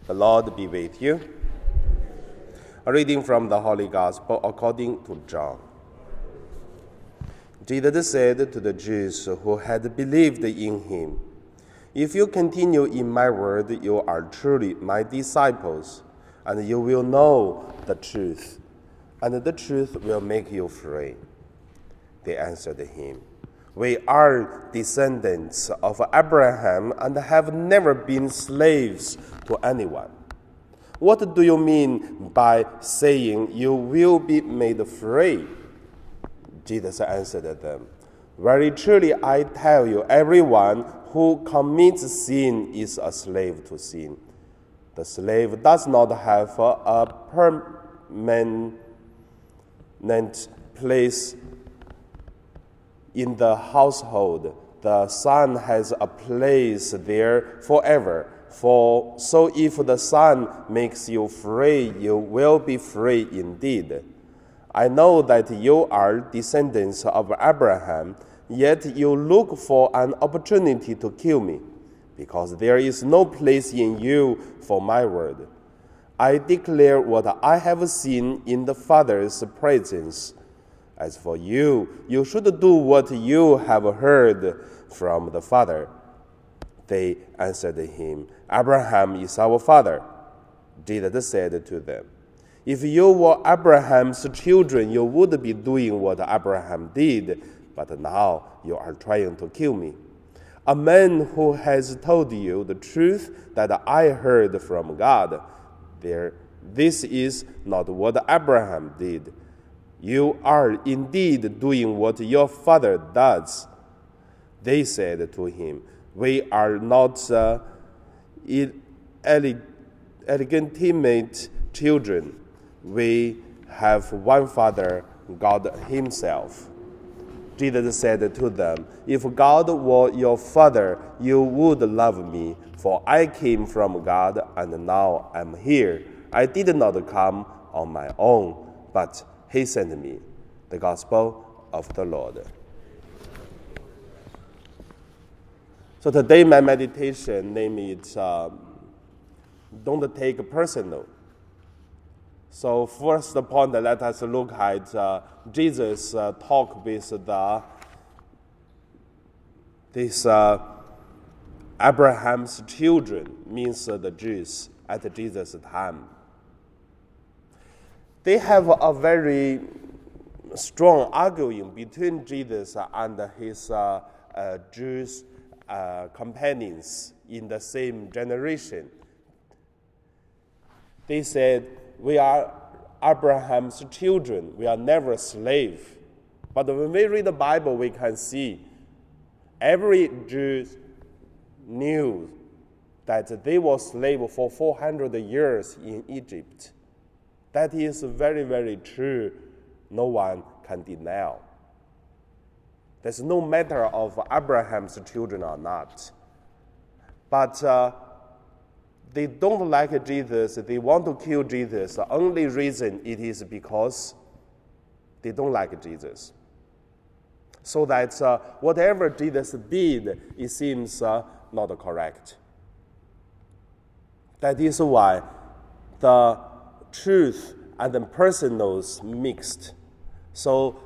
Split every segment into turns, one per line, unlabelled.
The Lord be with you. A reading from the Holy Gospel according to John. Jesus said to the Jews who had believed in him, "If you continue in my word, you are truly my disciples, and you will know the truth, and the truth will make you free." They answered him, "We are descendants of Abraham and have never been slaves to anyone. What do you mean by saying you will be made free?" Jesus answered them, "Very truly I tell you, everyone who commits sin is a slave to sin. The slave does not have a permanent place in the household. The Son has a place there forever. So if the Son makes you free, you will be free indeed. I know that you are descendants of Abraham, yet you look for an opportunity to kill me, because there is no place in you for my word. I declare what I have seen in the Father's presence. As for you, you should do what you have heard from the Father." They answered him, "Abraham is our father." Jesus said to them, "If you were Abraham's children, you would be doing what Abraham did, but now you are trying to kill me. A man who has told you the truth that I heard from God. This is not what Abraham did. You are indeed doing what your father does." They said to him, "We are not illegitimate children. We have one Father, God himself." Jesus said to them, "If God were your Father, you would love me, for I came from God and now I'm here. I did not come on my own, but he sent me." The Gospel of the Lord. So today my meditation name is "Don't Take Personal." So first point, let us look at Jesus' talk with this Abraham's children, means the Jews at Jesus' time. They have a very strong arguing between Jesus and his Jewish companions in the same generation. They said, "We are Abraham's children. We are never slaves." But when we read the Bible, we can see every Jew knew that they were slaves for 400 years in Egypt. That is very, very true. No one can deny. There's no matter of Abraham's children or not. But they don't like Jesus. They want to kill Jesus. The only reason it is because they don't like Jesus. So that whatever Jesus did, it seems not correct. That is why the truth and the personals mixed. So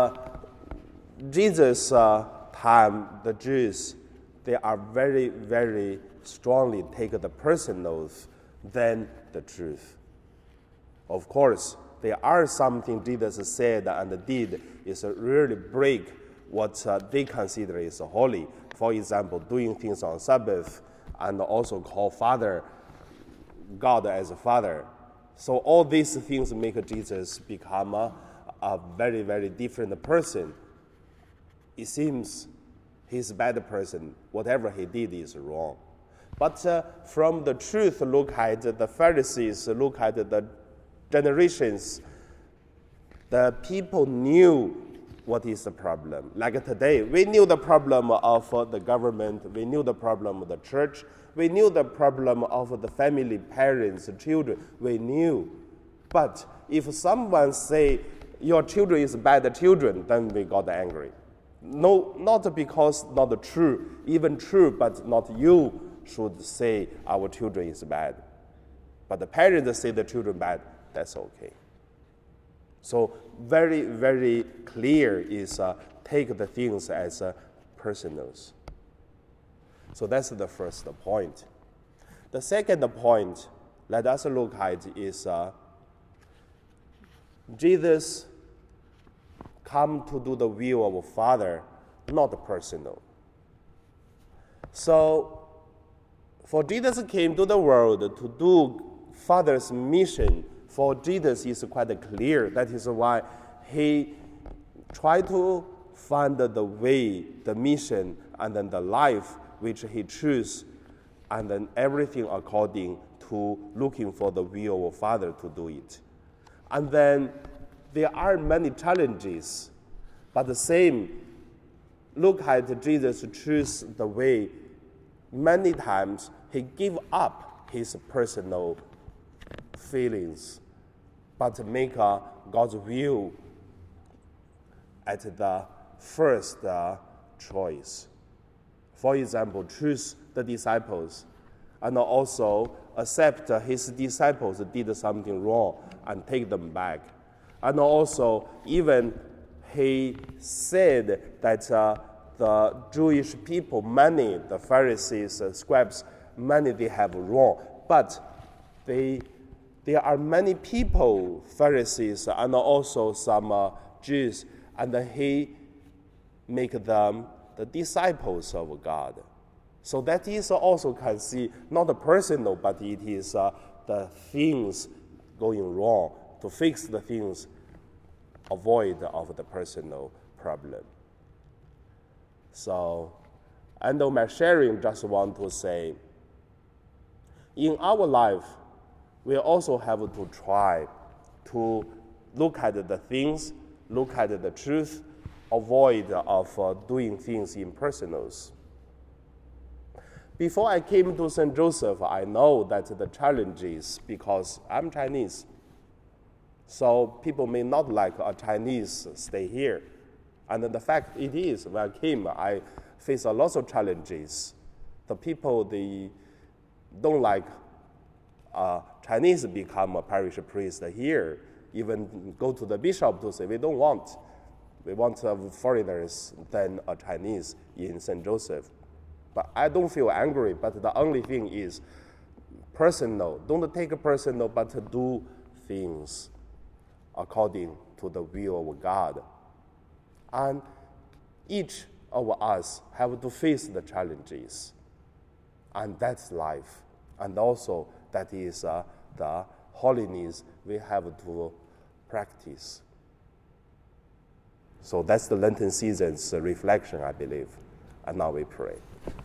Jesus' time, the Jews, they are very, very strongly take the personals than the truth. Of course, there are something Jesus said and did is really break what they consider is holy. For example, doing things on Sabbath and also call Father God as a Father. So all these things make Jesus become a very, very different person. It seems he's a bad person. Whatever he did is wrong. But from the truth, look at the Pharisees, look at the generations. The people knew what is the problem. Like today, we knew the problem of the government. We knew the problem of the church. We knew the problem of the family, parents, children. We knew. But if someone say, "Your children is bad children," then we got angry. No, not because not true, even true, but not you should say our children is bad. But the parents say the children bad, that's okay. So very, very clear is take the things as personals. So that's the first point. The second point, let us look at is Jesus come to do the will of Father, not personal. So, for Jesus came to the world to do Father's mission, for Jesus is quite clear. That is why he tried to find the way, the mission, and then the life which he chose, and then everything according to looking for the will of Father to do it. And then there are many challenges, but the same, look at Jesus choose the way. Many times he give up his personal feelings, but make God's will at the first choice. For example, choose the disciples and also accept his disciples did something wrong and take them back. And also even he said that the Jewish people, many, the Pharisees, scribes, many they have wrong, but there are many people, Pharisees, and also some Jews, and he make them the disciples of God. So that is also can see not personal, but it is the things going wrong, to fix the things, avoid of the personal problem. So, and on my sharing, just want to say, in our life, we also have to try to look at the things, look at the truth, avoid of doing things in personals. Before I came to St. Joseph, I know that the challenges, because I'm Chinese, so people may not like a Chinese stay here. And the fact it is, when I came, I faced a lot of challenges. The people, they don't like Chinese become a parish priest here. Even go to the bishop to say, we want foreigners than a Chinese in St. Joseph. But I don't feel angry, but the only thing is personal. Don't take it personal, but do things according to the will of God. And each of us have to face the challenges. And that's life. And also that is the holiness we have to practice. So that's the Lenten season's reflection, I believe. And now we pray.